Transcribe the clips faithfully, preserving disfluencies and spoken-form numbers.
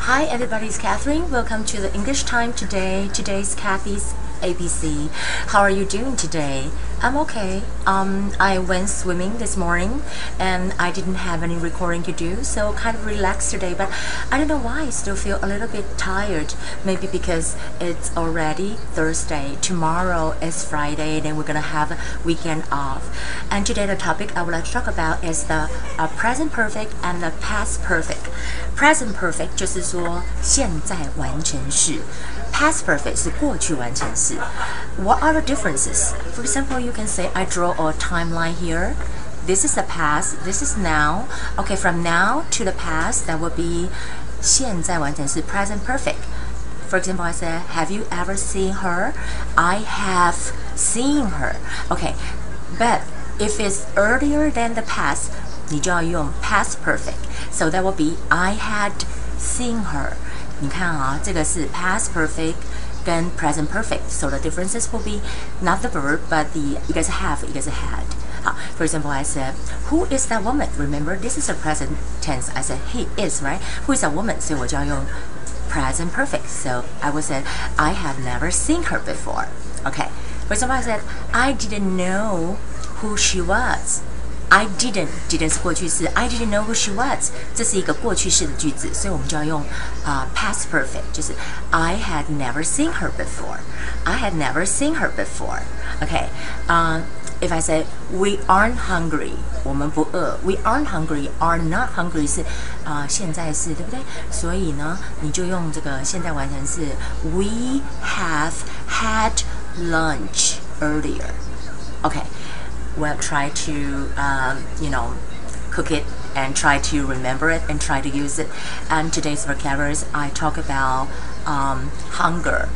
Hi everybody, it's Catherine. Welcome to the English Time today. Today's Kathy's A B C. How are you doing today? I'm okay. Um, I went swimming this morning and I didn't have any recording to do, so kind of relaxed today, but I don't know why I still feel a little bit tired. Maybe because it's already Thursday. Tomorrow is Friday, then we're gonna have a weekend off. And today the topic I would like to talk about is the uh, present perfect and the past perfect. Present perfect 就是说现在完成式。Past perfect 是过去完成式。What are the differences? For example, you can say I draw a timeline here. This is the past. This is now. Okay, from now to the past, that would be 现在完成式 present perfect. For example, I said, have you ever seen her? I have seen her. Okay, but if it's earlier than the past, 你就要用 past perfect. So that would be I had seen her. 你看啊，这个是 past perfect 跟 present perfect. So the differences will be not the verb, but the 一个是 have, 一个是 had. 好 For example, I said, who is that woman? Remember, this is a present tense. I said, he is, right? Who is that woman? 所以我就要用 present perfect. So I would say, I have never seen her before. Okay. For example, I said, I didn't know who she was. I didn't didn't 是过去式 I didn't know who she was 这是一个过去式的句子，所以我们就要用啊、uh, past perfect 就是 I had never seen her before I had never seen her before Okay uh, If I say we aren't hungry 我们不饿 We aren't hungry are not hungry 是啊、呃、现在式对不对？所以呢你就用这个现在完成式 We have had lunch earlier Okay Well, try to, um, you know, cook it and try to remember it and try to use it. And today's vocabularies, I talk about um, hunger,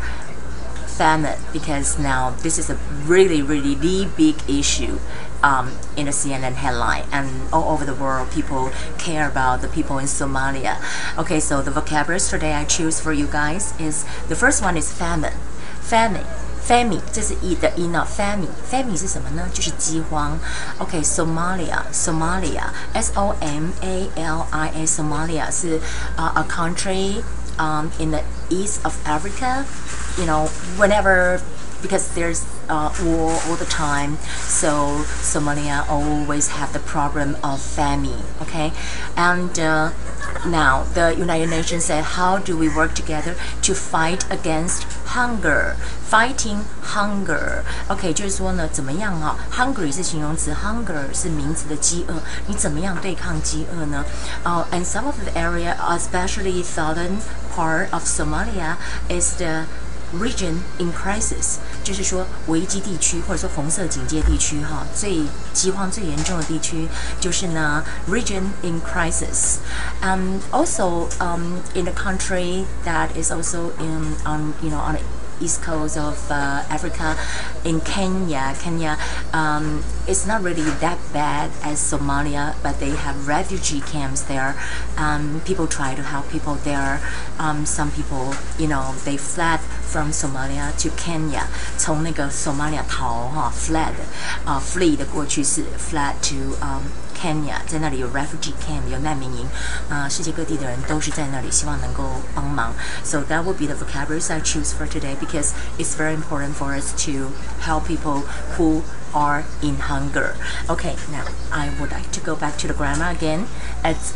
famine, because now this is a really, really the big issue um, in the C N N headline. And all over the world, people care about the people in Somalia. Okay, so the vocabularies today I choose for you guys is, the first one is famine. Famine.Famine 这是 e 的 e 呢 famine famine 是什么呢？就是饥荒。OK Somalia Somalia S O M A L I A Somalia 是 uh, a country um, in the east of Africa. You know whenever because there's uh, war all the time, so Somalia always have the problem of famine. Okay, and uh, now the United Nations said, how do we work together to fight against hunger? Fighting hunger. OK， 就是说呢，怎么样啊 ？Hungry 是形容词 ，hunger 是名词的饥饿。你怎么样对抗饥饿呢？呃、uh, ，and some of the area, especially southern part of Somalia, is the region in crisis， 就是说危机地区或者说红色警戒地区哈，最饥荒最严重的地区就是呢 region in crisis. And also um, in a country that is also in on you know on the east coast of uh, Africa, in Kenya, Kenya, um, it's not really that bad as Somalia, but they have refugee camps there. Um, people try to help people there. Um, some people, you know, they fled from Somalia to Kenya. 从那个 Somalia 逃哈 fled， 啊、uh, flee 的过去式 fled to um, Kenya， 在那里有 refugee camp， 有难民营，啊、呃，世界各地的人都是在那里，希望能够帮忙。So that would be the vocabularies I choose for today because it's very important for us to help people who are in hunger. Okay, now I would like to go back to the grammar again. It's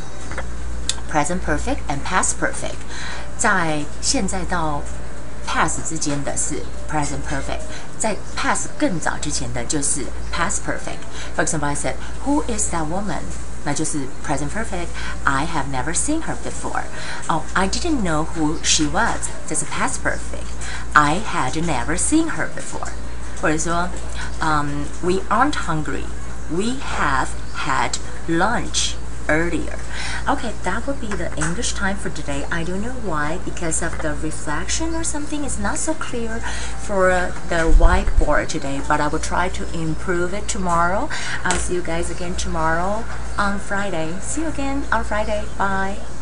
present perfect and past perfect. 在现在到 past 之间的是 present perfect， 在 past 更早之前的就是 past perfect. For example, I said, who is that woman? 那就是 present perfect. I have never seen her before. Oh, I didn't know who she was. 这是 past perfect. I had never seen her before. 或者说，um, we aren't hungry. We have had lunch earlier. Okay, that would be the English time for today. I don't know why, because of the reflection or something. It's not so clear for uh, the whiteboard today, but I will try to improve it tomorrow. I'll see you guys again tomorrow on Friday. See you again on Friday. Bye.